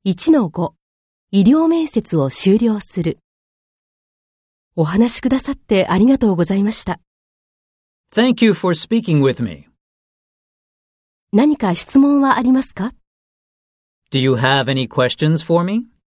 1-5 医療面接を終了する。お話しくださってありがとうございました。 Thank you for speaking with me. 何か質問はありますか？ Do you have any questions for me?